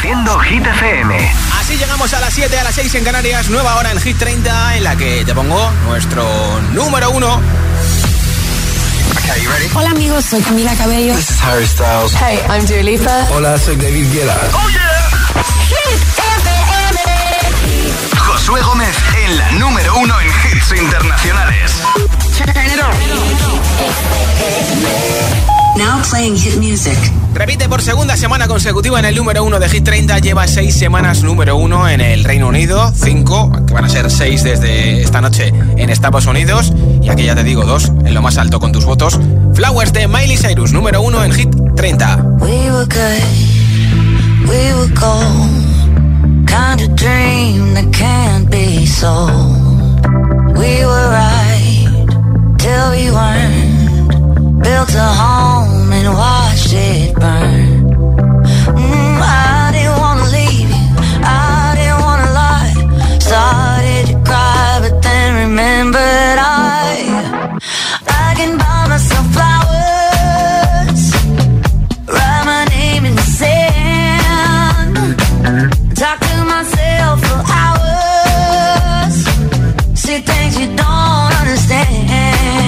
Haciendo Hit FM. Así llegamos a las 7, a las 6 en Canarias. Nueva hora en Hit 30, en la que te pongo nuestro número 1. Okay, you ready? Hola amigos, soy Camila Cabello. This is Harry Styles. Hey, I'm Dua Lipa. Hola, soy David Guetta. Oh yeah. Hit FM. Josué Gómez en la número 1 en hits internacionales. Turn it on. Now playing hit music. Repite por segunda semana consecutiva en el número 1 de Hit 30. Lleva 6 semanas número 1 en el Reino Unido, 5, que van a ser 6 desde esta noche en Estados Unidos. Y aquí ya te digo 2 en lo más alto con tus votos. Flowers de Miley Cyrus, número 1 en Hit 30. We were good, we were gold, kind of dream that can't be sold. We were right till we weren't. Built a home and watched it burn. I didn't wanna leave you, I didn't wanna lie. Started to cry, but then remembered I can buy myself flowers, write my name in the sand, talk to myself for hours, see things you don't understand.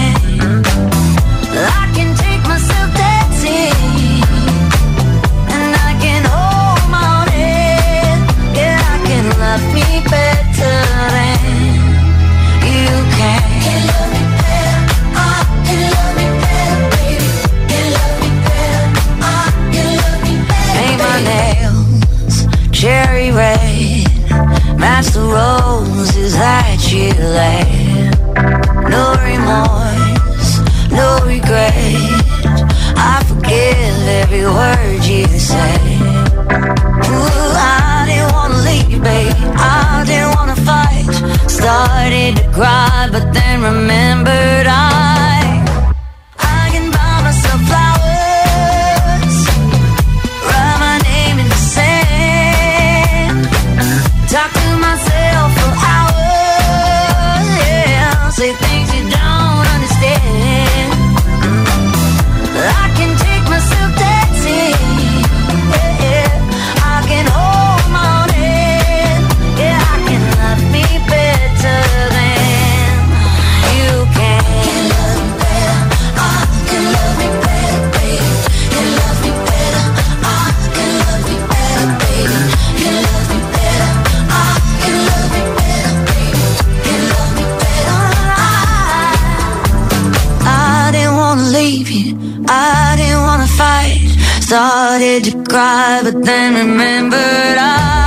I can take myself dancing, and I can hold my own head. Yeah, I can love me better than you can. Can love me better, I can love me better, baby. Can love me better, I can love me better. Paint my nails cherry red, match the roses that you laid. No remorse, no regret, I forgive every word you say. Ooh, I didn't wanna leave, babe, I didn't wanna fight. Started to cry, but then remembered I can buy myself flowers, write my name in the sand, talk to myself for hours, yeah, say things you don't understand. I can take myself dancing, yeah, I can hold my own head, yeah, I can love me better than you can. Can love me better, I can love me better, baby. Can love me better, I can love me better, baby. Can love me better, I can love me better, baby. Can love me better, I didn't wanna leave you, I didn't wanna fight. Started to cry, but then remembered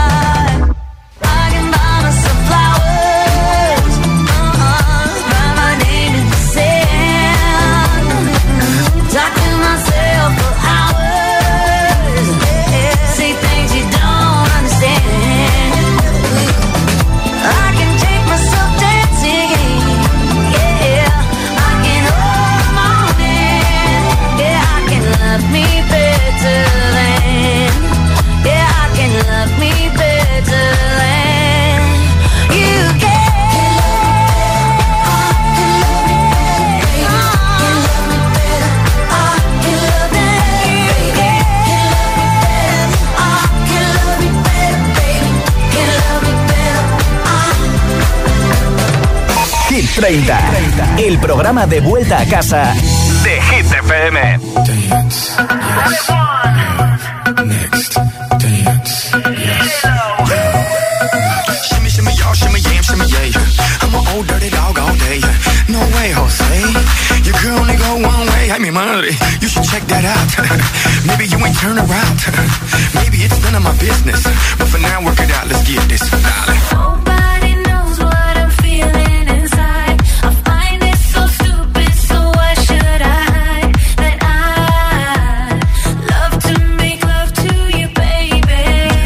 I can buy myself flowers, write my name in the sand, talk to myself for hours, yeah, say things you don't understand. I can take myself dancing, yeah, I can hold my own hand, yeah, I can love me better than, yeah, I can love me better than you can. Hit 30, el programa de vuelta a casa de Hit FM. Dance, yes. Next, dance, yes. Shimmy, shimmy, y'all, shimmy, yam, shimmy, yeah. I'm an old dirty dog all day. No way, Jose. You can only go one way. I mean, money, you should check that out. Maybe you ain't turn around. Maybe it's none of my business. But for now, work it out. Let's get this, darling. Nobody knows what I'm feeling inside. I find it so stupid, so why should I hide that I love to make love to you, baby.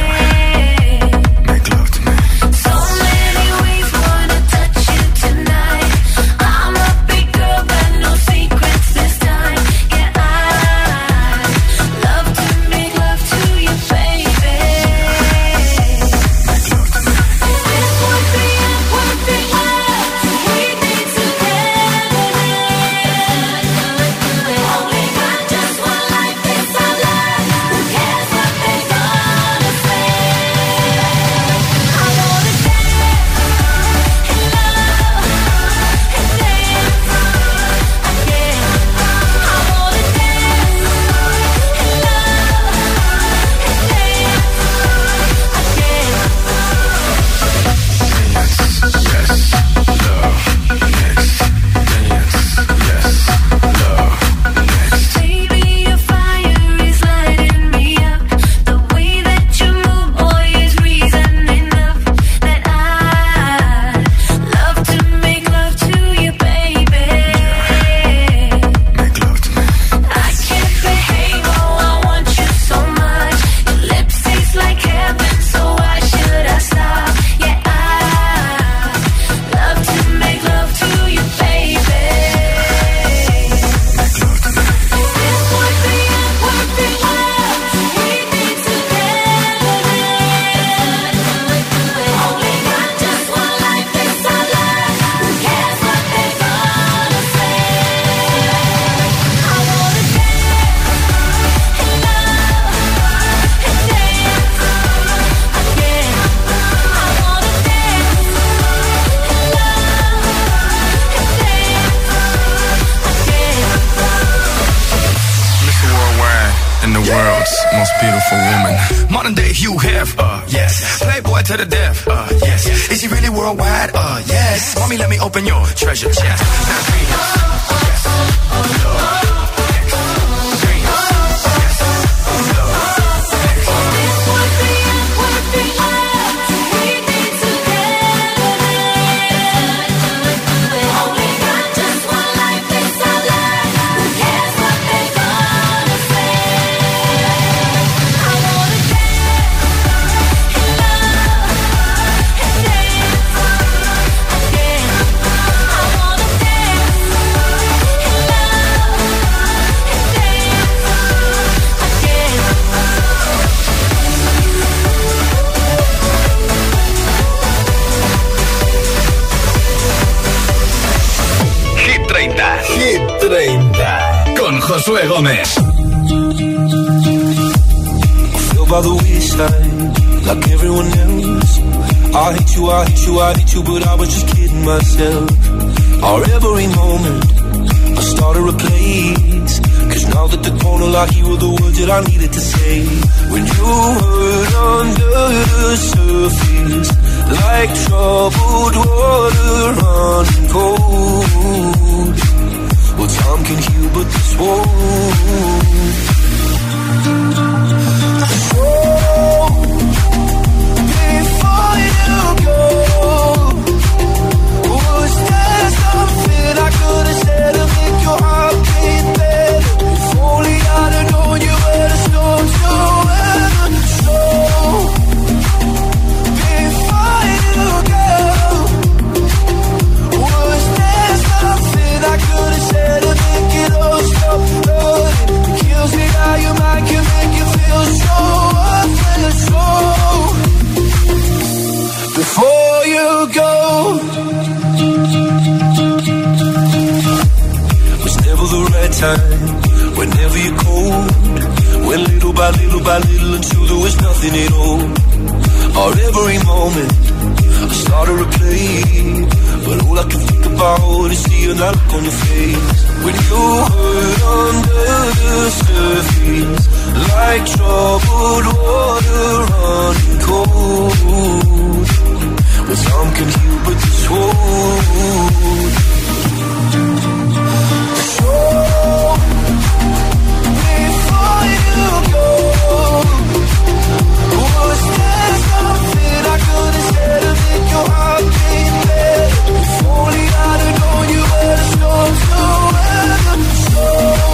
Make love to me. So many ways wanna touch you tonight. I'm a big girl, but no secrets this time. Yeah, I love to make love to you, baby. Make love to me. beautiful woman. Modern day Hugh Hef, yes. Playboy to the death, yes. Is he really worldwide? Yes. Mommy, let me open your treasure chest. Con Josué Gómez. By the wayside, like everyone else. I hate you, I hate you, I hate you, but I was just kidding myself. Our every moment, I started a place. Cause now that the corner like you were the words that I needed to say. When you hurt under the surface, like troubled water running cold. Well, time can heal, but this won't. So, before you go, was there something I could have said to make your heart beat better? If only I'd have known you were the storm to weather. So, before you go, was there something I could have said to make it all stop hurting? It kills me how your mind can make you feel so worthless. So, before you go, was never the right time. Whenever you're cold, went little by little until there was nothing at all. Or every moment I started to play, but all I can think about is seeing that look on your face. When you hurt under the surface, like troubled water running cold. Well, some can heal, but this won't. So, before you go, was there something I could have said to make your heart beat better? If only I'd have known you were the storm to weather. So,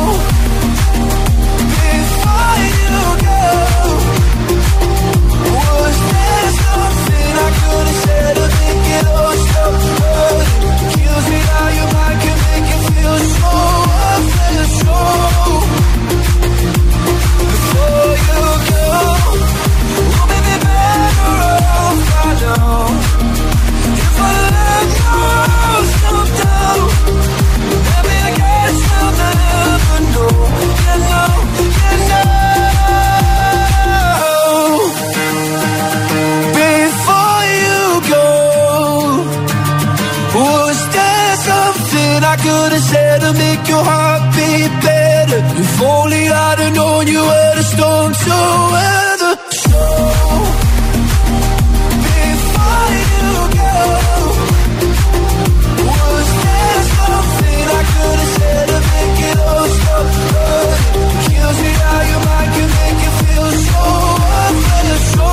before you go, was there something I could have said to make it all stop hurting? It kills me how your mind can make you feel so worthless. So, before you go, we'll be better off by now. If I let yourself down, maybe I guess I'll never know. You know, you know. Before you go, was there something I could have said to make your heart beat better? If only I'd have known you were the storm to weather. So, before you go, was there something I could have said to make it all stop hurting? It kills me how your mind can make you feel so worthless. So,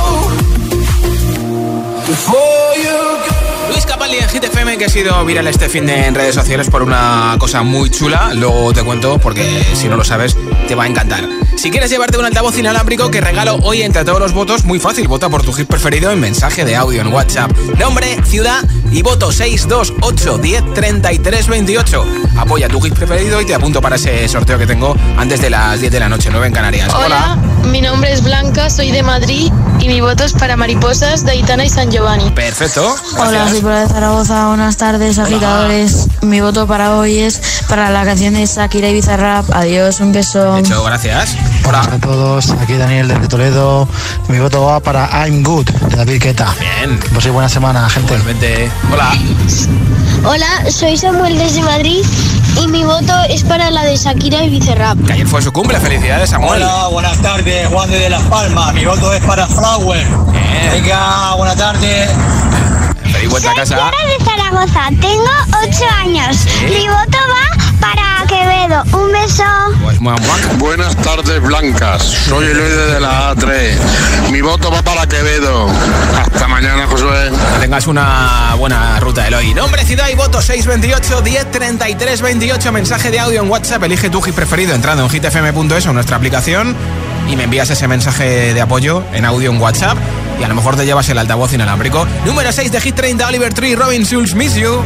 before you go. Luis Capaldi en Hit FM, que ha sido viral este fin de en redes sociales por una cosa muy chula. Luego te cuento porque si no lo sabes te va a encantar. Si quieres llevarte un altavoz inalámbrico que regalo hoy entre todos los votos, muy fácil, vota por tu hit preferido en mensaje de audio en WhatsApp. Nombre, ciudad y voto 628 10 33 28. Apoya tu hit preferido y te apunto para ese sorteo que tengo antes de las 10 de la noche, 9 en Canarias. Hola, mi nombre es Blanca, soy de Madrid y mi voto es para Mariposas de Aitana y San Giovanni. Perfecto, gracias. Hola, soy Paula de Zaragoza, buenas tardes, agitadores. Mi voto para hoy es para la canción de Shakira y Bizarrap. Adiós, un beso. Hecho, gracias. Hola a todos, aquí Daniel desde Toledo. Mi voto va para I'm Good, de David Guetta. Bien. Pues sí, buena semana, gente. Igualmente. Hola. Hola, soy Samuel desde Madrid y mi voto es para la de Shakira y Bizarrap. Que ayer fue su cumple, felicidades, Samuel. Hola, buenas tardes, Juan de Las Palmas. Mi voto es para Flower. Venga, buenas tardes. Feliz vuelta a casa. de Zaragoza, tengo 8 años. Mi voto va para Quevedo. Un beso. Pues muy blanca. Buenas tardes, blancas. Soy el líder de la A3. Mi voto va para Quevedo. Hasta mañana, Josué. Que tengas una buena ruta, Eloy. Nombre, ciudad y voto 628 10 33 28. Mensaje de audio en WhatsApp. Elige tu hit preferido entrando en hitfm.es o nuestra aplicación y me envías ese mensaje de apoyo en audio en WhatsApp y a lo mejor te llevas el altavoz inalámbrico. Número 6 de Hit 30, Oliver Tree, Robin Schulz, Miss You.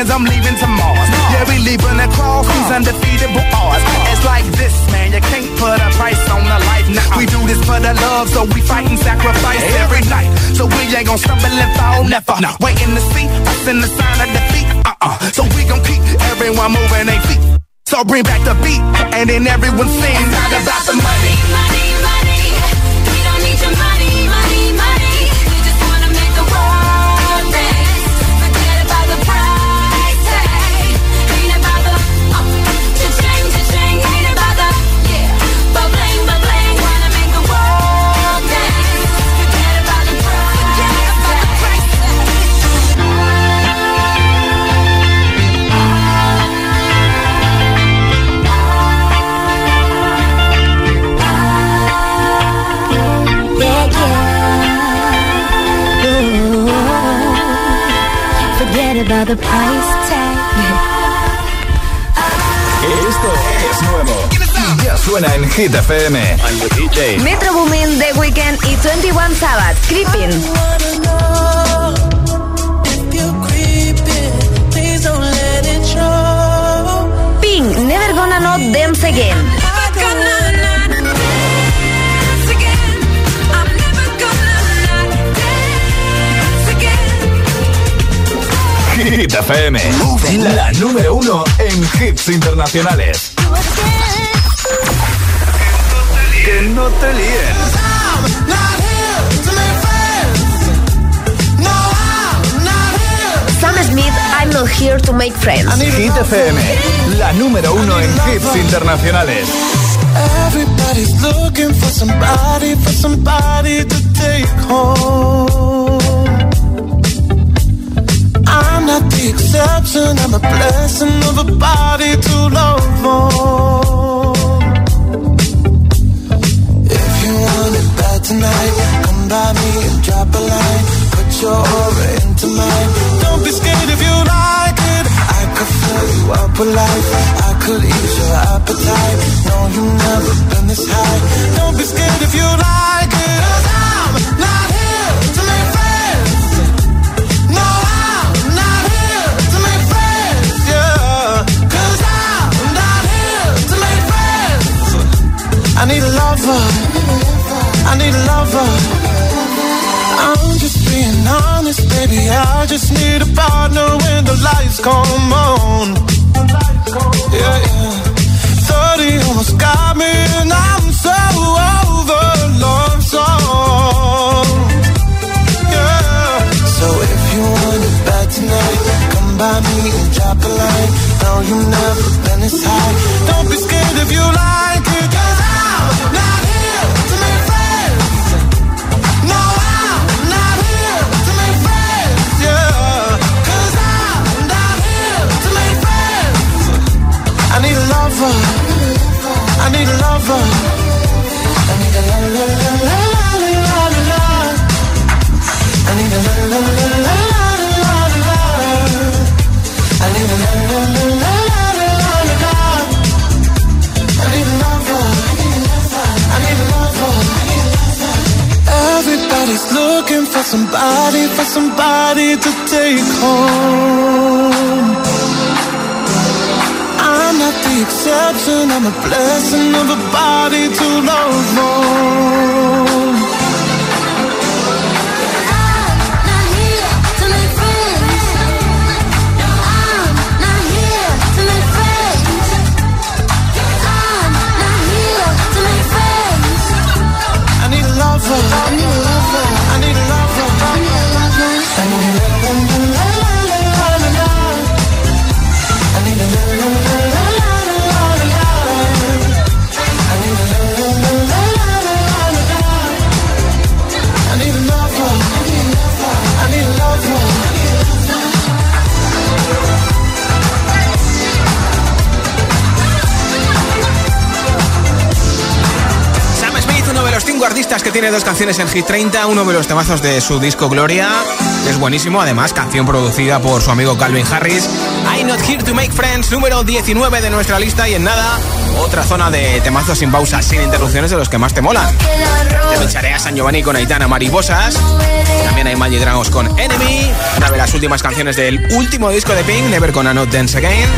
cause I'm leaving to Mars. Yeah, we leaving across these undefeatable odds. It's like this, man, you can't put a price on a life. Now we do this for the love, so we fight and sacrifice every night. So we ain't gon' stumble and fall, never. Waiting to see us in the sign of defeat. So we gon' keep everyone moving their feet. So bring back the beat, and then everyone sings out about the money. Money, money, we don't need your money, money, money. We just wanna make the world dance. Forget about the price tag. Ain't about the cha-ching, ain't about the ba-bling, ba-bling. Wanna make the world dance. Forget about the price tag. Forget about the price tag. Esto es nuevo. Ya suena en Hit FM. Metro Boomin, The Weeknd y 21 Savage, Creeping. Pink, Never Gonna Not Dance Again. Hit FM, la número 1 en hits internacionales. Que no te líen. Sam Smith, I'm Not Here to Make Friends. Hit FM, la número 1 en hits internacionales. Everybody's looking for somebody to take home. I'm not the exception, I'm a blessing of a body to love on. If you want it bad tonight, come by me and drop a line. Put your aura into mine. Don't be scared if you like it. I could fill you up with life. I could ease your appetite. No, you've never been this high. Don't be scared if you like it. 'Cause I'm not here to make friends. No, I'm not here to make friends. Yeah, 'cause I'm not here to make friends. I need a lover. I need a lover. I'm just being honest, baby. I just need a partner when the lights come on. Yeah, yeah. 30 almost got me, and I'm so over love song. Yeah. So if you want it bad tonight, come by me and drop a line. No, you've never been this high. Don't be scared if you like it, 'cause I'm not here to make friends. No, I'm not here to make friends. Yeah, 'cause I'm not here to make friends. I need a lover. I need a lover. I need a la la la la la la la la. I need a la la la la la la la. I need a la la la la la la la. I need a lover. I need a lover. Everybody's looking for somebody to take home. I'm not the exception, I'm a blessing of a body to love more. I need a lover. I need a lover. I need a lover. I need a lover. I need a lover. I need a artistas que tiene dos canciones en Hit 30, uno de los temazos de su disco Gloria, que es buenísimo, además canción producida por su amigo Calvin Harris. I'm Not Here to Make Friends, número 19 de nuestra lista. Y en nada, otra zona de temazos sin pausas, sin interrupciones, de los que más te molan. Te pincharé a San Giovanni con Aitana, Mariposas. También hay Imagine Dragons con Enemy, una de las últimas canciones del último disco de Pink, Never Gonna Not Dance Again.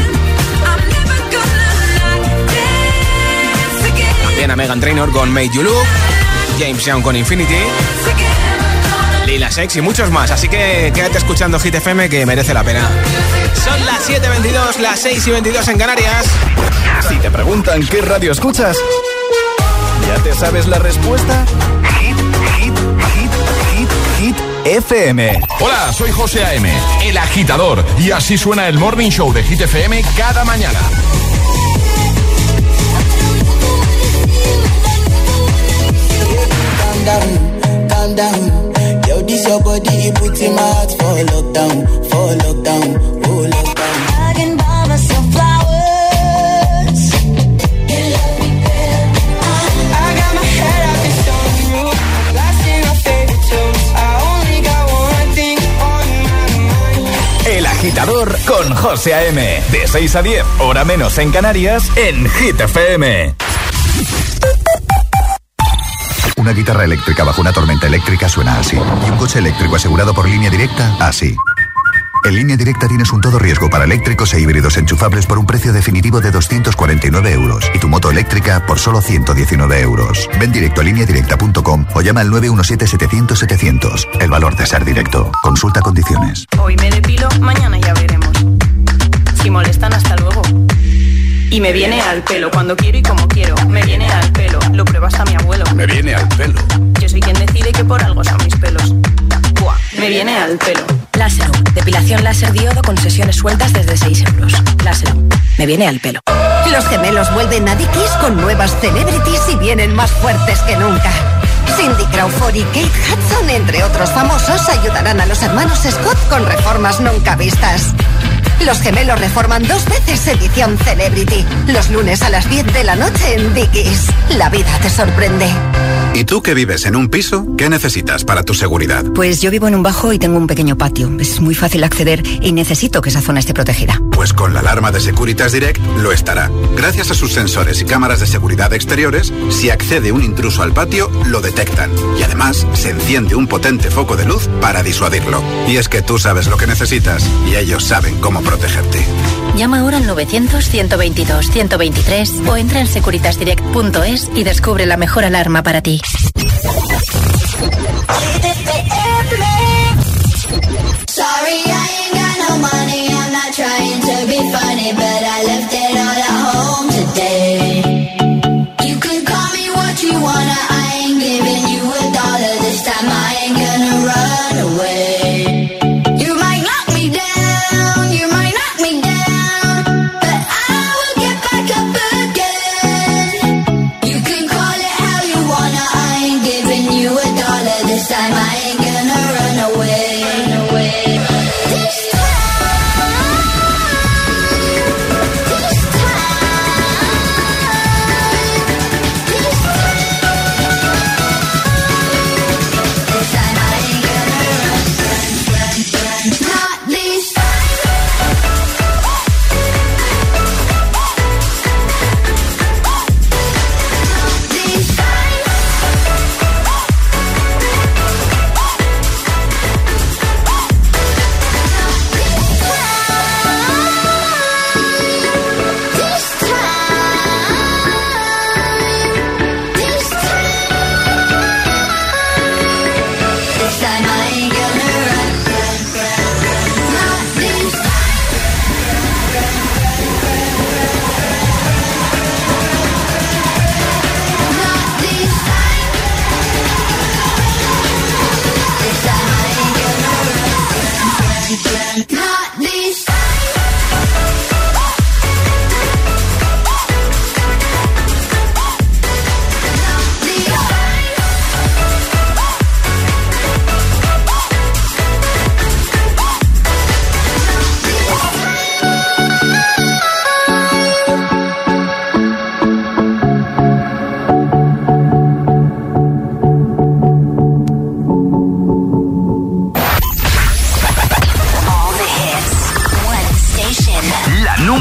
También a Meghan Trainor con Made You Look, James Young con Infinity, Lila Sex y muchos más. Así que quédate escuchando Hit FM, que merece la pena. Son las 7:22, las 6:22 en Canarias. Si te preguntan qué radio escuchas, ¿ya te sabes la respuesta? Hit FM. Hola, soy José A.M., el agitador, y así suena el Morning Show de Hit FM cada mañana. Calm down. Yo, this your body, you put in my heart for lockdown, oh lockdown. I can buy myself flowers. You love me better. I got my head out the sunroof, blasting my favorite tunes. I only got one thing on my mind. El agitador con José A.M. De 6 a 10, hora menos en Canarias, en Hit FM. Una guitarra eléctrica bajo una tormenta eléctrica suena así. Y un coche eléctrico asegurado por Línea Directa, así. En Línea Directa tienes un todo riesgo para eléctricos e híbridos enchufables por un precio definitivo de 249 euros. Y tu moto eléctrica por solo 119 euros. Ven directo a lineadirecta.com o llama al 917-700-700. El valor de ser directo. Consulta condiciones. Hoy me depilo, mañana ya veremos. Si molestan, hasta luego. Y me viene al pelo, cuando quiero y como quiero. Me viene al pelo, lo prueba hasta mi abuelo. Me viene al pelo. Yo soy quien decide que por algo son mis pelos. Buah, me viene al pelo. Láser, depilación láser diodo con sesiones sueltas desde 6 euros. Láser, me viene al pelo. Los gemelos vuelven a Dickies con nuevas celebrities y vienen más fuertes que nunca. Cindy Crawford y Kate Hudson, entre otros famosos, ayudarán a los hermanos Scott con reformas nunca vistas. Los gemelos reforman 2 veces edición Celebrity. Los lunes a las 10 de la noche en Dickies. La vida te sorprende. ¿Y tú que vives en un piso? ¿Qué necesitas para tu seguridad? Pues yo vivo en un bajo y tengo un pequeño patio. Es muy fácil acceder y necesito que esa zona esté protegida. Pues con la alarma de Securitas Direct lo estará. Gracias a sus sensores y cámaras de seguridad exteriores, si accede un intruso al patio, lo detectan. Y además, se enciende un potente foco de luz para disuadirlo. Y es que tú sabes lo que necesitas y ellos saben cómo protegerte. Llama ahora al 900-122-123 o entra en securitasdirect.es y descubre la mejor alarma para ti. Sorry, I ain't got no money. I'm not trying to be funny, but I left it all at home today. You can call me what you wanna. I ain't giving you $1 this time. I ain't gonna run away. You might knock me down, you might knock me down, but I will get back up again. You can call it how you wanna. I ain't giving you $1 this time. I ain't gonna run away. This time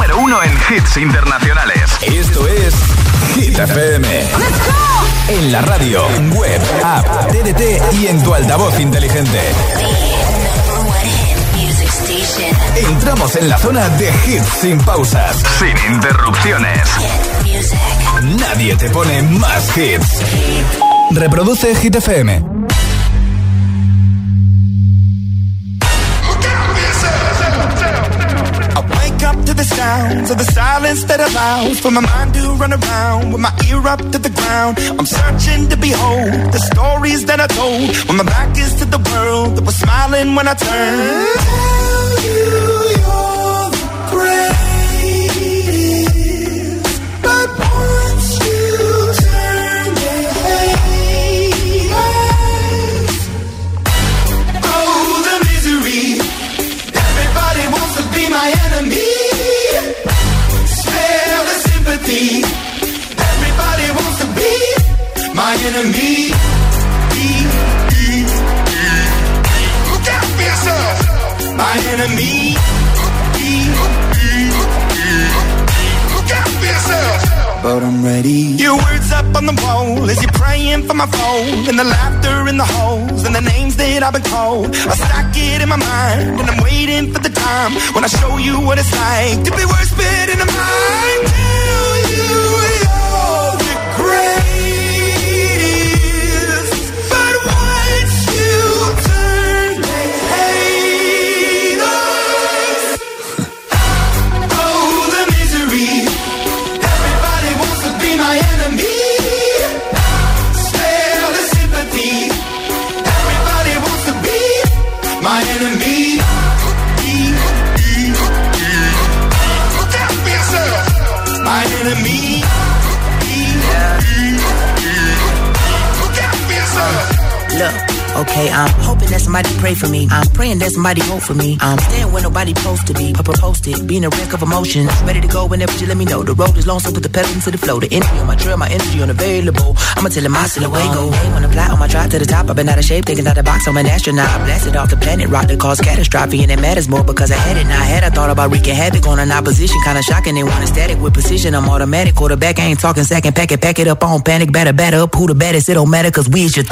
número 1 en hits internacionales. Esto es Hit FM. En la radio, web, app, TDT y en tu altavoz inteligente. Entramos en la zona de hits sin pausas, sin interrupciones. Nadie te pone más hits. Reproduce Hit FM. To the sounds of the silence that allows for my mind to run around with my ear up to the ground. I'm searching to behold the stories that I told when my back is to the world that was smiling when I turned. Tell you you're the greatest, but once you turn they hate us. Oh, the misery. Everybody wants to be my enemy. Everybody wants to be my enemy. Look out for yourself. My enemy. Look out for yourself. But I'm ready. Your words up on the wall as you're praying for my phone, and the laughter in the holes and the names that I've been called. I stack it in my mind and I'm waiting for the time when I show you what it's like to be worse fit in the mind. Okay, I'm hoping that somebody pray for me. I'm praying that somebody hope for me. I'm staying where nobody supposed to be. Posted, being a wreck of emotions. Ready to go whenever you let me know. The road is long, so put the pedal into the flow. The energy on my trail, my energy unavailable. I'ma tell him my silhouette go. Hey, when I fly on my drive to the top, I've been out of shape, thinking out of the box. I'm an astronaut. I blasted off the planet, rock that caused catastrophe, and it matters more because I had it. Now I thought about wreaking havoc on an opposition, kinda shocking. They want a static with precision. I'm automatic, quarterback. I ain't talking second. Pack it up on panic. Batter up. Who the baddest? It don't matter, cause we is your.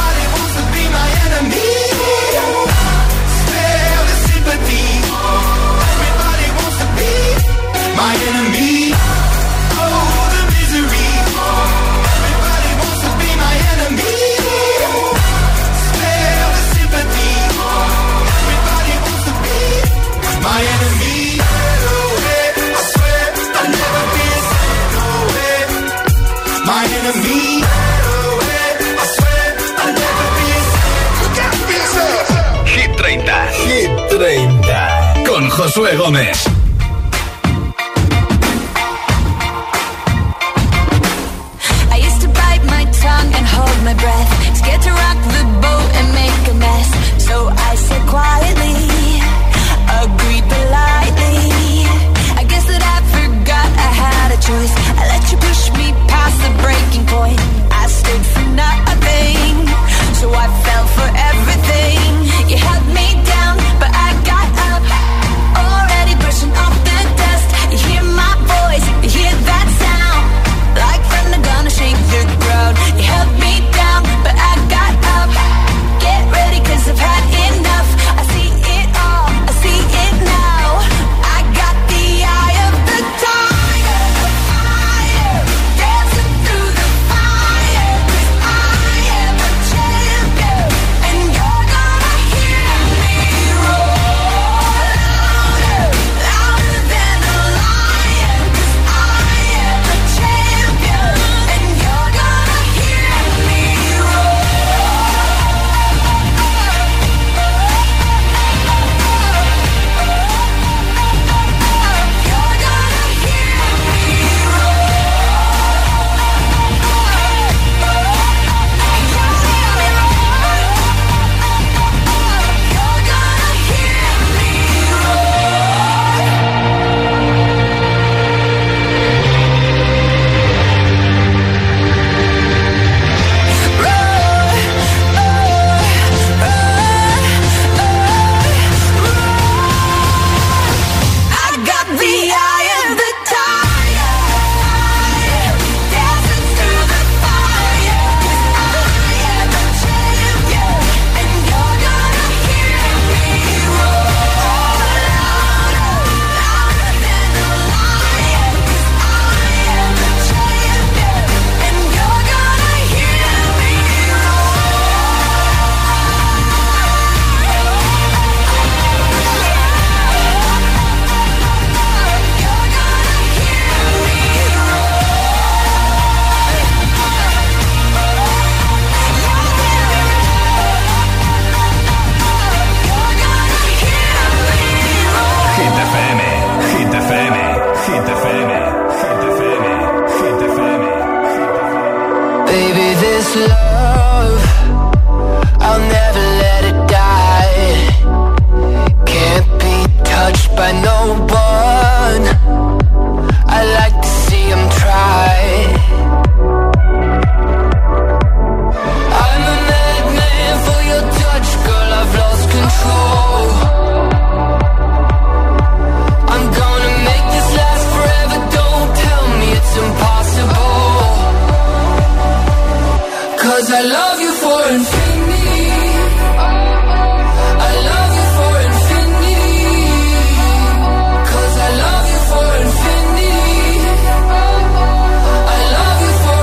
Con Josué Gómez. I used to bite my tongue and hold my breath, scared to rock the boat and make a mess. So I said quietly, agreed politely. I guess that I forgot I had a choice. I let you push me past the breaking point. I stood for nothing, so I fell for everything. You held me down, but I got up, already brushing off this love, I'll never let it die. Can't be touched by no one. I like to see them try. I'm a madman for your touch, girl, I've lost control. I'm gonna make this last forever, don't tell me it's impossible. 'Cause I love you for infinity. I love you for infinity. 'Cause I love you for infinity. I love you for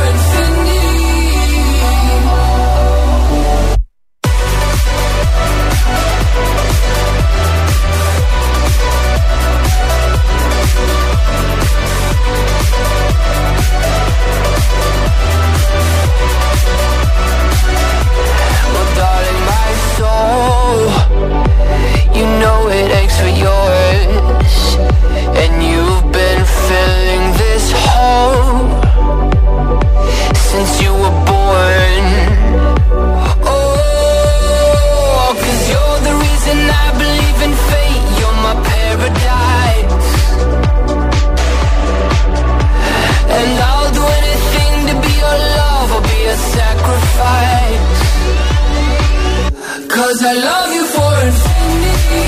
you know it aches for yours, and you've been filling this hole since you were born. Oh, 'cause you're the reason I believe in fate. You're my paradise, and I'll do anything to be your love or be a sacrifice. 'Cause I love you for infinity.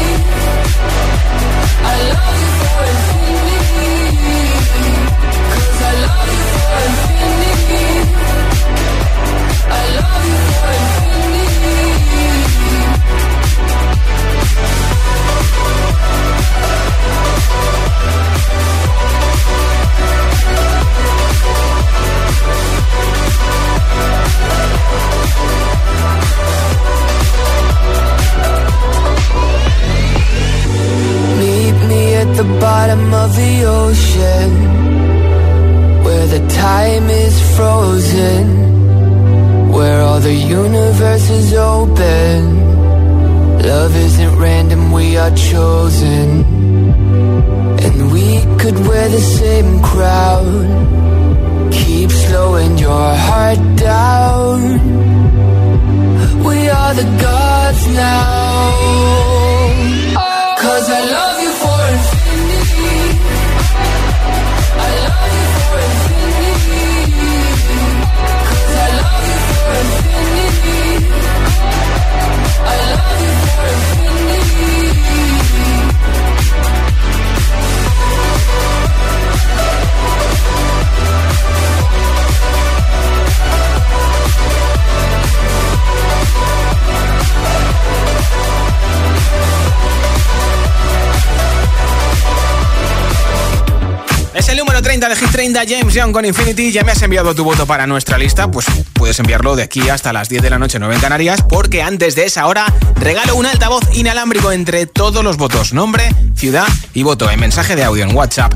I love you for infinity. 'Cause I love you for infinity. I love you for infinity. Meet me at the bottom of the ocean, where the time is frozen, where all the universe is open. Love isn't random, we are chosen, and we could wear the same crown. Keep slowing your heart down. We are the gods now. 'Cause I love you for infinity. I love you for infinity. 'Cause I love you for infinity. I love you for infinity. Es el número 30 de Hit 30, James Young con Infinity. Ya me has enviado tu voto para nuestra lista, pues puedes enviarlo de aquí hasta las 10 de la noche, 9 en Canarias, porque antes de esa hora regalo un altavoz inalámbrico entre todos los votos, nombre, ciudad y voto en mensaje de audio en WhatsApp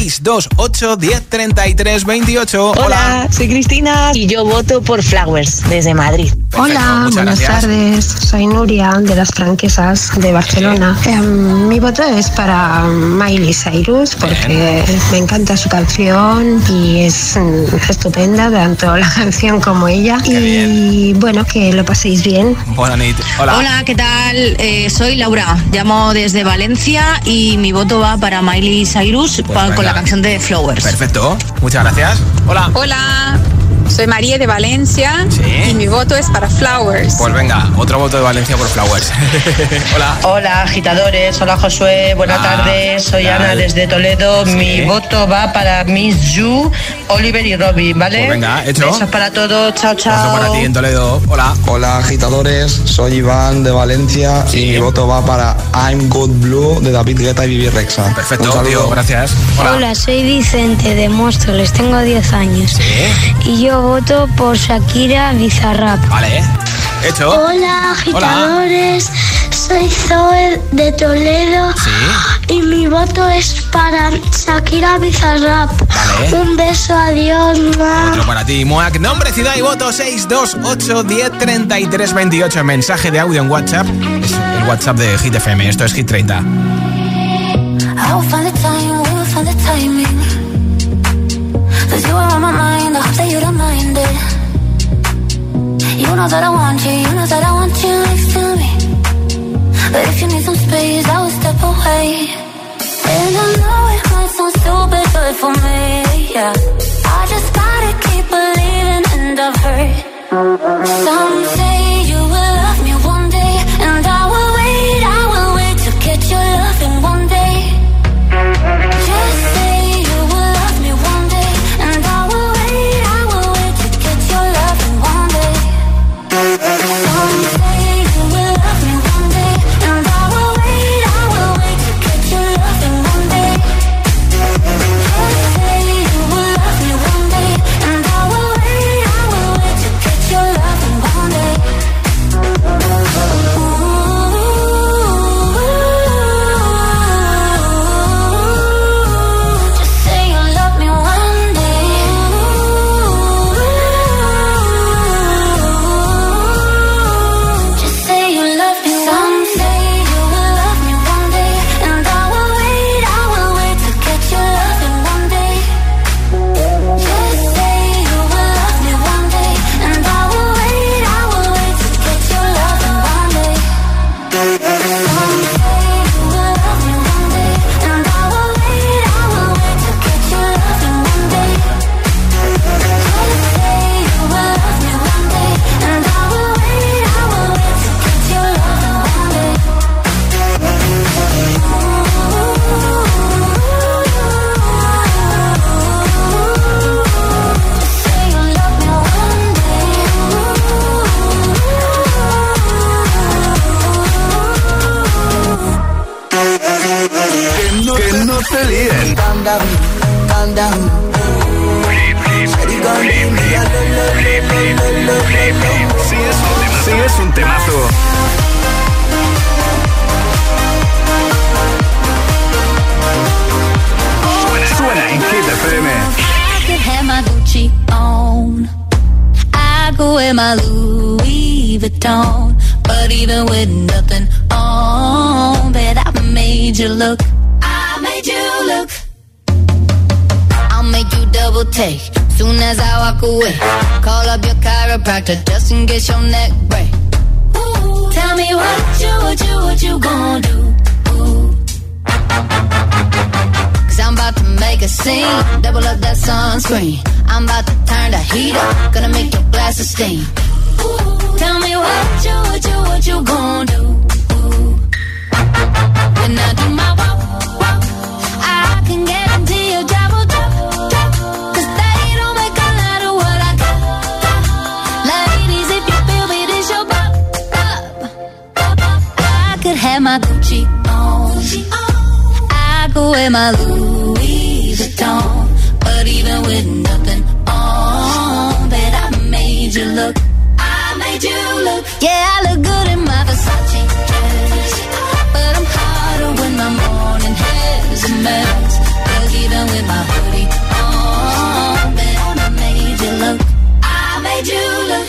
628 10 33 28. Hola, soy Cristina y yo voto por Flowers desde Madrid. Perfecto, hola, buenas tardes. Soy Nuria de Las Franquesas de Barcelona. Mi voto es para Miley Cyrus porque me encanta su canción y es estupenda, tanto la canción como ella. Y bueno, que lo paséis bien. Buenas noches. Hola. Hola, ¿qué tal? Soy Laura, llamo desde Valencia y mi voto va para Miley Cyrus con la canción de Flowers. Perfecto, muchas gracias. Hola. Hola, soy María de Valencia y mi voto es para Flowers. Pues venga, otro voto de Valencia por Flowers. Hola. Hola, agitadores. Hola, Josué. Buenas tardes. Soy Ana desde Toledo. Sí. Mi voto va para Miss You, Oliver y Robin, ¿vale? Pues venga, hecho. Besos para todos. Chao, chao. Voto para ti en Toledo. Hola. Hola, agitadores. Soy Iván de Valencia y mi voto va para I'm Good Blue de David Guetta y Vivi Rexa. Perfecto, tío, gracias. Hola, soy Vicente de Móstoles, tengo 10 años. Y yo voto por Shakira Bizarrap. Vale, hecho. Hola, agitadores. Soy Zoe de Toledo. Y mi voto es para Shakira Bizarrap. Vale. Un beso, adiós. Otro para ti, Moac. Nombre, ciudad y voto 628 10 33 28. Mensaje de audio en WhatsApp. Es el WhatsApp de Hit FM. Esto es Hit 30. I'll find the time, we'll find the timing. 'Cause you are on my mind, I hope that you don't mind it. know that I want you, you know that I want you next to me. But if you need some space, I will step away. And I know it might sound stupid, but for me, yeah, I just gotta keep believing, and I've heard some say you will love me one day, and I will wait to get your loving one day. Just say you will love me one day, and I will wait to get your loving one day. Some say you will love me one day, and I will wait to get your loving one day. Just say you will love me one day, and I will wait to get your loving one day. Just say you love me one day. Just say you love me. Some say you will love me one day, and I will wait to get your loving one day. Just say you will love me one day, and I will wait to get your loving one day. Some say you will love me one day, and I will wait to get your loving one day. Just say you will love me one day, and I will wait to get your loving one day. Say you love me one day. Que no te líen. Calm down, calm down. Sí, es un temazo. Suena en Hit FM. I could have my Gucci on. I go wear my Louis Vuitton. But even with nothing on, bet I made you look. I made you look. I'll make you double take soon as I walk away. Call up your chiropractor just in case your neck break. Ooh, tell me what you gonna do? Ooh. 'Cause I'm about to make a scene. Double up that sunscreen. I'm about to turn the heat up. Gonna make your glasses steam. Ooh, tell me what you gonna do? Ooh. When I do my walk, I can guarantee your job will drop. 'Cause they don't make a lot of what I got. Ladies, if you feel me, this your pop. I could have my Gucci on. I go wear my Louis Vuitton. But even with nothing on, bet I made you look. I made you look. Yeah, I look good in my Versace dress. But I'm hotter when my morning hair's a mess. 'Cause even with my hoodie on, bet I made you look. I made you look.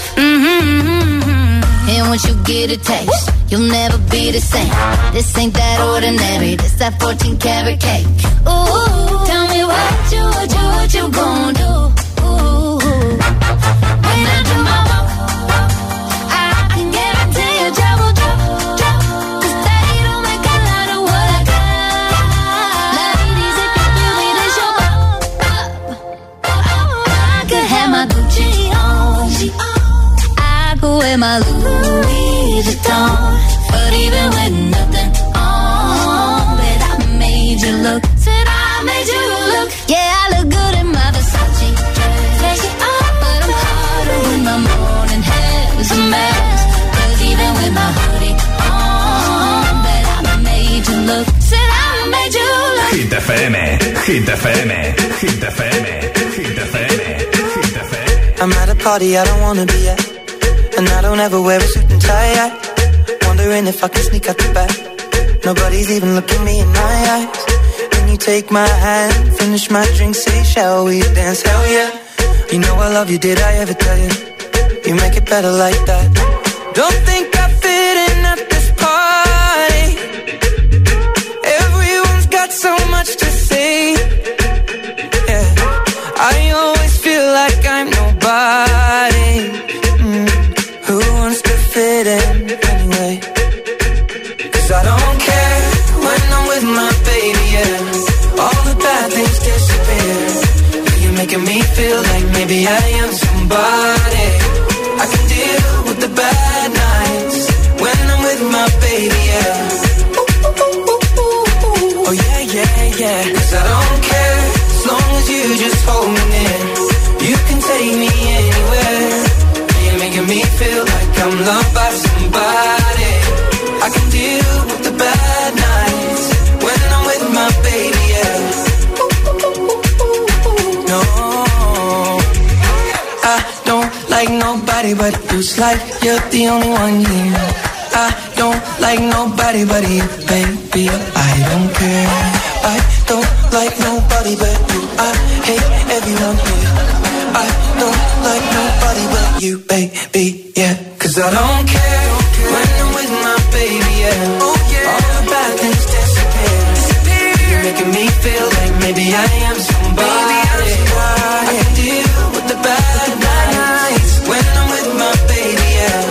And once you get a taste, you'll never be the same. This ain't that ordinary. This that 14 karat cake. Ooh, tell me what you gonna do? Ooh, when I do my walk, I can guarantee your job will drop. 'Cause they don't make a lot of what I got. Ladies, if you feel me, this your pop. I could have my Gucci on. I go wear my Louis Vuitton. But even with nothing on, bet I made you look. Said I made you look. Yeah, I look good in my Versace dress. But I'm hotter when my morning hair's a mess. 'Cause even with my hoodie on, bet I made you look. Said I made you look. Hit FM, Hit FM, Hit FM, Hit FM, Hit FM. I'm at a party I don't wanna be at, and I don't ever wear a suit and tie. Wondering if I can sneak out the back. Nobody's even looking me in my eyes. Can you take my hand, finish my drink, say shall we dance? Hell yeah. You know I love you, did I ever tell you? You make it better like that. Don't think I fit in at this party. Everyone's got so much to say. Yeah, I always feel like I'm nobody. Who feel like maybe I am somebody. I can deal with the bad nights when I'm with my baby, yeah. Oh yeah, yeah, yeah. 'Cause I don't care as long as you just hold me near. You can take me anywhere. You're making me feel like I'm loved by somebody. I can deal with the bad nights when I'm with my baby, yeah. No, I don't like nobody but you. It's like you're the only one here. I don't like nobody but you, baby. I don't care. I don't like nobody but you. I hate everyone here. I don't like nobody but you, baby, yeah. 'Cause I don't care when I'm with my baby, yeah. Oh, yeah. All the bad things disappear. You're making me feel like maybe I am somebody. I can deal with the bad nights when I'm with my baby, yeah.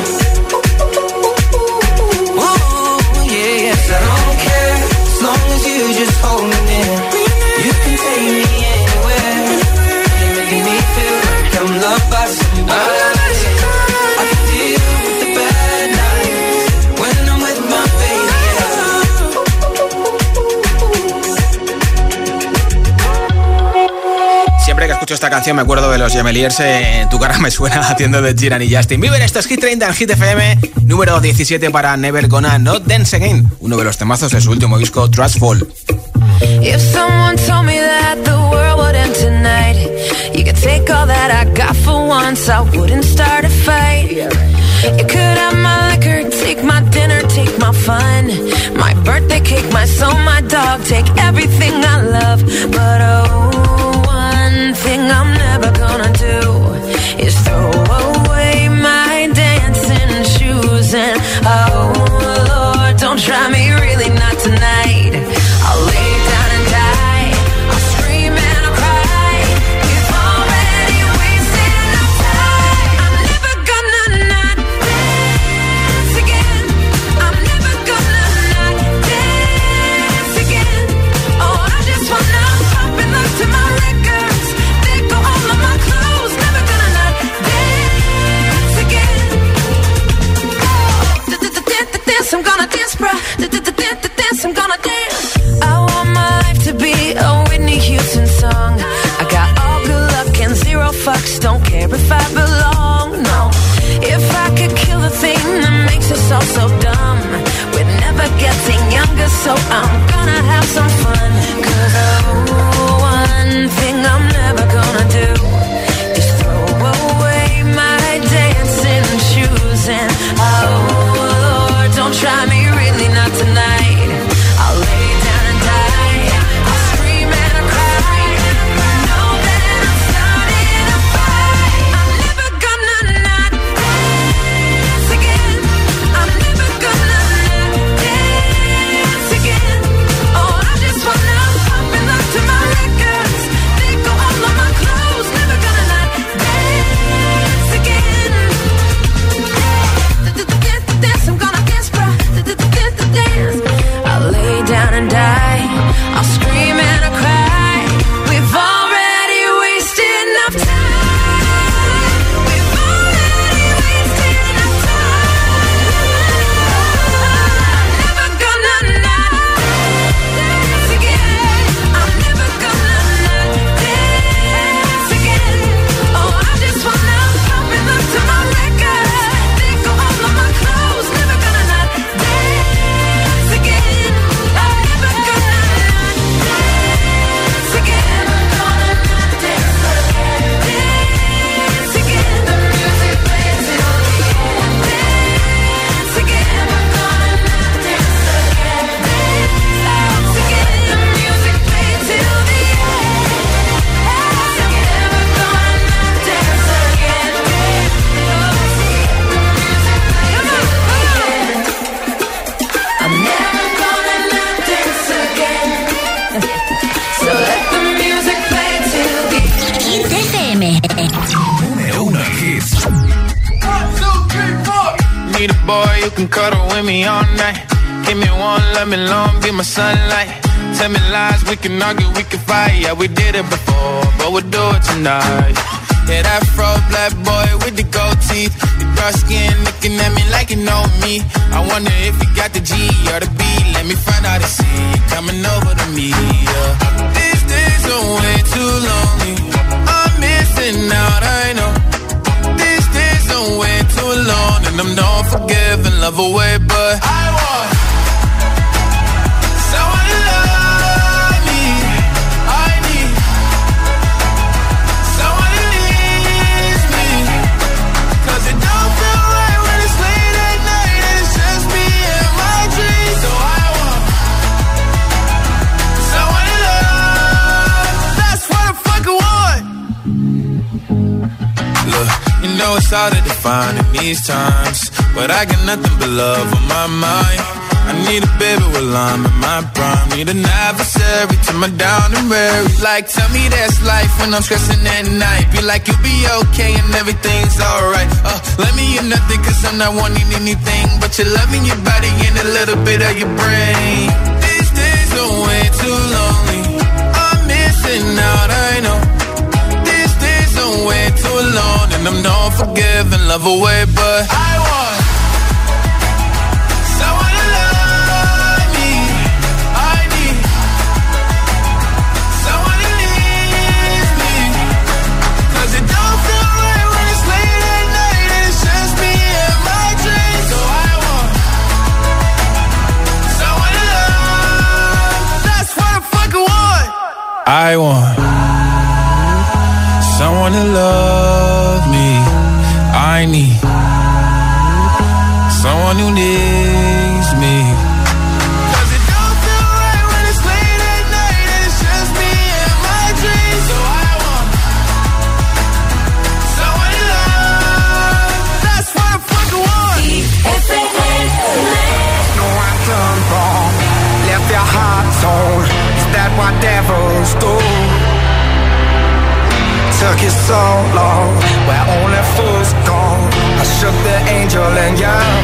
Ooh, yeah, yes, I don't care as long as you just hold me near. You can take me anywhere. You're making me feel like I'm loved by somebody. I can deal with the bad nights when I'm with my baby, yeah. Siempre que escucho esta canción me acuerdo de los Gemeliers. Tu cara me suena haciendo de Sheeran y Justin Bieber. Esto es Hit 30 en Hit FM. Número 17 para Never Gonna Not Dance Again, uno de los temazos de su último disco, Trustful. If someone told me that the world would end tonight, you could take all that I got for once, I wouldn't start a fight. You could have my liquor, take my dinner, take my fun, my birthday cake, my soul, my dog, take everything I love. But oh, one thing I'm never gonna do is throw away my dancing shoes. And oh Lord, don't try me, really not tonight. I'll lay down and die, I'll scream and I'll cry. We've already wasted enough time. I'm never gonna not dance again. I'm never gonna not dance again. Oh, I just wanna pop and look to my records. They go all of my clothes. Never gonna not dance again. Oh, dance, I'm gonna dance, bruh. Dance, I'm gonna dance. I want my life to be a Whitney Houston song. I got all good luck and zero fucks. Don't care if I belong, no. If I could kill the thing that makes us all so dumb, we're never getting younger, so I'm gonna have some fun. 'Cause oh, one thing I'm never gonna do is throw away my dancing shoes. And oh Lord, don't try me, really not tonight. I'll lay down and die, I'll scream and I'll cry. Know that I'm starting a fight. I'm never gonna not dance again. I'm never gonna not dance again. Oh, I just wanna pop and look to my records. They go all of my clothes. Never gonna not dance again. Dance, I'm gonna dance, bruh. Dance. I'll lay down and die, I'll scream and I'll cry. We've already wasted enough time. We've already wasted enough time. I'm never gonna not dance again. I'm never gonna not dance again. Oh, I just wanna pop and look to my records. They go all of my clothes. Never gonna not dance again. I'm never gonna not dance again. I'm gonna not dance again. Dance again. The music plays till the end. Dance again. I'm gonna not dance again. Dance again. The music plays till the end. Dance again. I'm gonna not dance again. The music I'm never gonna not dance again. So let the music play till the Hit FM. Número 1 hits. 1, 2, 3, 4. Need a boy who can cuddle with me all night. Give me one, let me long, be my sunlight. tell me lies, we can argue, we can fight. Yeah, we did it before, but we'll do it tonight. Yeah, that fro black boy with the gold teeth, the dark skin looking at me like you know me. I wonder if you got the G or the B. Let me find out and see you coming over to me. Yeah. These days are way too lonely. I'm missing out, I know. These days are way too long, and I'm not forgiving, love away, but I want someone to love me. I need someone who needs me, 'cause it don't feel right when it's late at night and it's just me and my dreams. So I want someone to love. That's what I fucking want. Look, you know it's hard to define in these times, but I got nothing but love on my mind. I need a baby while I'm in my prime. Need an adversary to my down and weary. Like, tell me that's life when I'm stressing at night. Be like, you'll be okay and everything's alright. Let me in nothing 'cause I'm not wanting anything but your love in your body and a little bit of your brain. These days are way too lonely. I'm missing out, I know. These days are way too long, and I'm not forgiving, love away, but I want someone to love me. I need someone who needs me, 'cause it don't feel right when it's late at night and it's just me and my dreams. So I want someone to love. That's what I fucking want. I want someone to love me. I need someone who needs me, 'cause it don't feel right when it's late at night and it's just me and my dreams. So I want someone to love. That's what I fucking want. No, I've done wrong, left your heart torn. Is that what devils do? Took you so long, where only fools go. I shook the angel and young.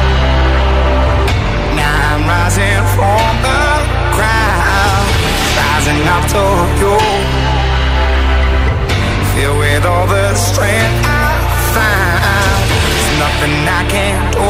Now I'm rising from the ground, rising up to you. Filled with all the strength I find, there's nothing I can't do.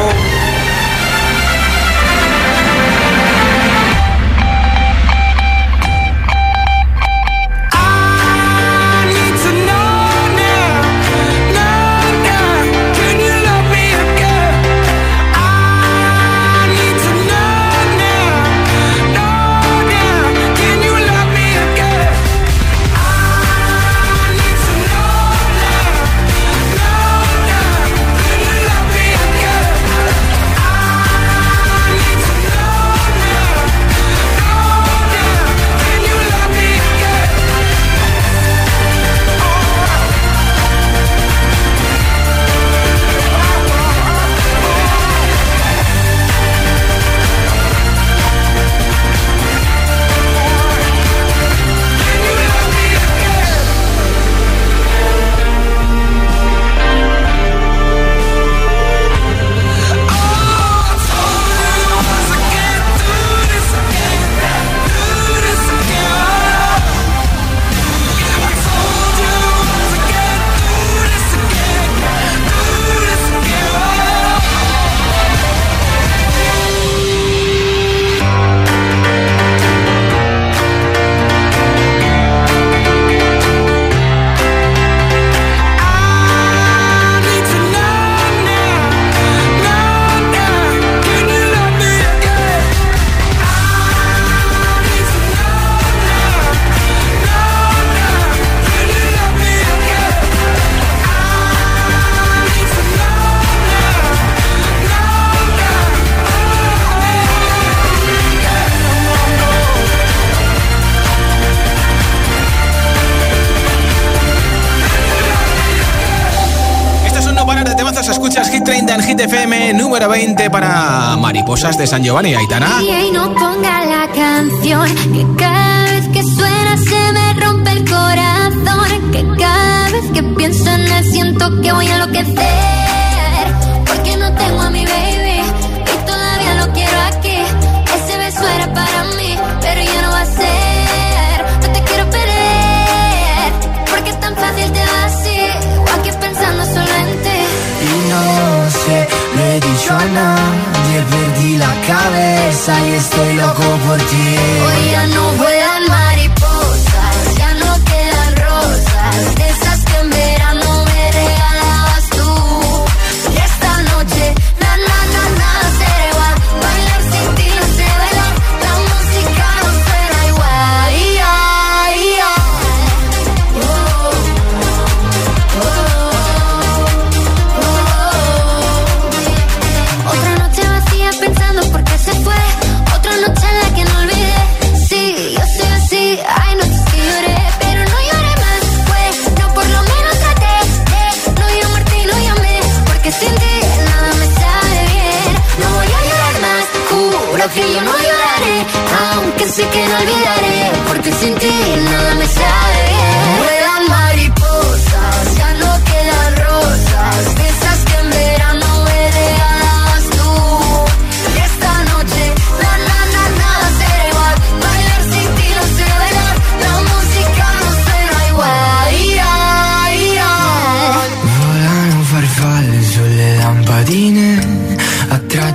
Escuchas Hit 30 en Hit FM, número 20 para Mariposas de San Giovanni. Aitana. Y no ponga la canción, que cada vez que suena se me rompe el corazón, que cada vez que pienso en él siento que voy a enloquecer, porque no tengo a mi baby y todavía lo quiero aquí. Ese beso era para mí, pero ya no va a ser.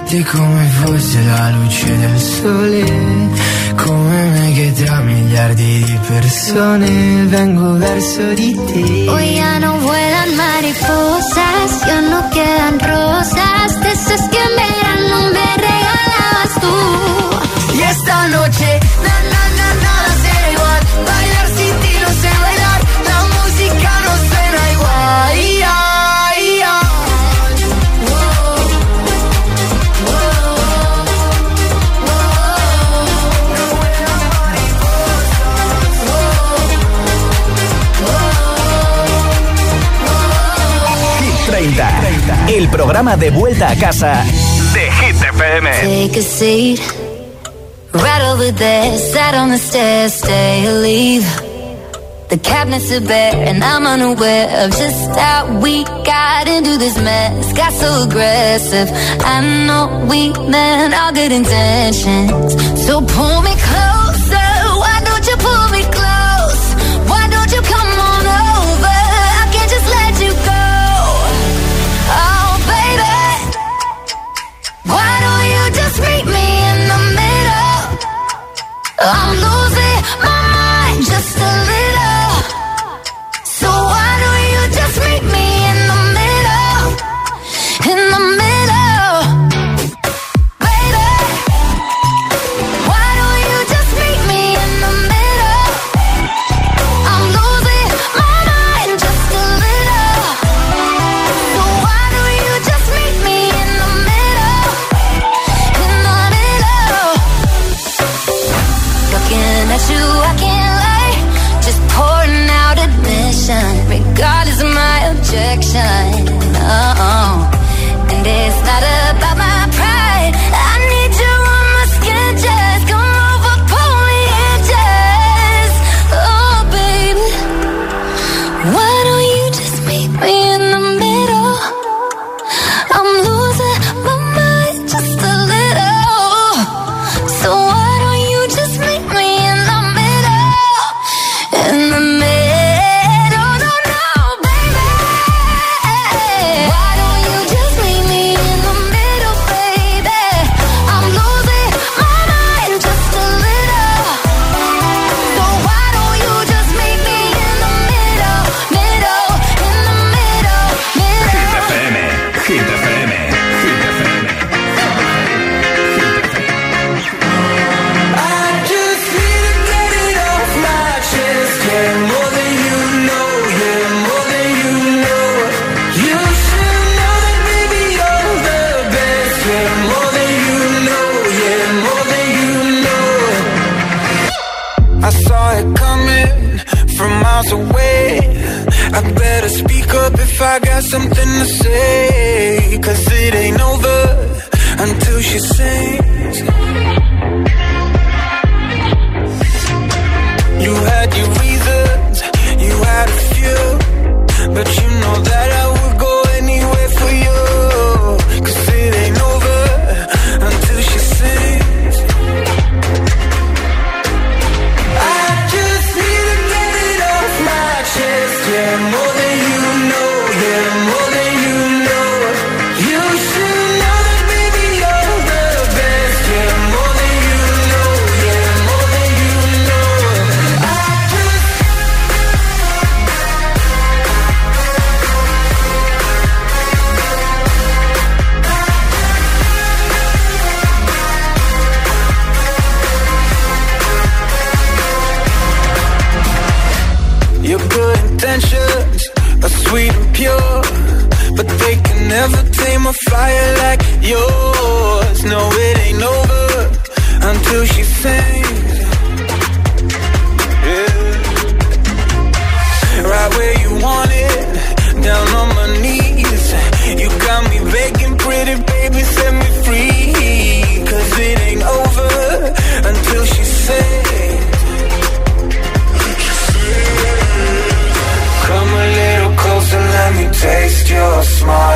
batte come fosse la luce del sole, come me che tra miliardi di persone vengo verso di te. Hoy ya no vuelan mariposas, ya no quedan rosas, de esas que en verano me regalabas tú. Y esta noche, nada será igual, bailar sin ti no sé bailar, la música no suena igual. Hit 30, el programa de vuelta a casa de Hit FM. Take a seat, right over there, sat on the stairs, stay or leave. The cabinets are bare and I'm unaware of just how we got into this mess. Got so aggressive, I know we meant all good intentions. So pull me closer, why don't you pull me close? Why don't you come on over? I can't just let you go. Oh baby, why don't you just meet me in the middle? I'm losing my mind just a little. So why don't you just meet me in the middle? In the middle, baby. Why don't you just meet me in the middle? I'm losing my mind just a little. So why don't you just meet me in the middle? In the middle. Looking at you, I can't lie. Just pouring out admission, regardless of my objection. Oh, and it's not about my pride. I need you on my skin, just come over, pull me in, just. Oh, baby, why don't you just meet me in the middle? I'm losing my mind just a little. So why don't you just meet me in the middle? In the middle, no, baby. Why don't you just meet me in the middle, baby? I'm losing my mind just a little. So why don't you just meet me in the middle, in the middle. Hit FM, Hit FM, Hit FM. I just need to get it off my chest. Yeah, more than you know, yeah, more than you know. You should know that, baby, you're the best. Yeah, more than you know, yeah, more than you know. I saw it coming from miles away. I better speak up if I got something to say. 'Cause it ain't over until she sings. You had your reasons, you had a few, but you know that I would go anywhere for you. 'Cause it ain't over until she sings. I just need to get it off my chest. Yeah, more than you know, yeah, more than you know. You should know that, baby, you're the best. Yeah, more than you know, yeah, more than you know. I just your good intentions are sweet and pure, but they can never tame a fire like yours. No, it ain't over until she sings. Yeah. Right where you want it, down on my knees. You got me begging, pretty baby, set me free. 'Cause it ain't over until she sings. Come a little closer, let me taste your smile.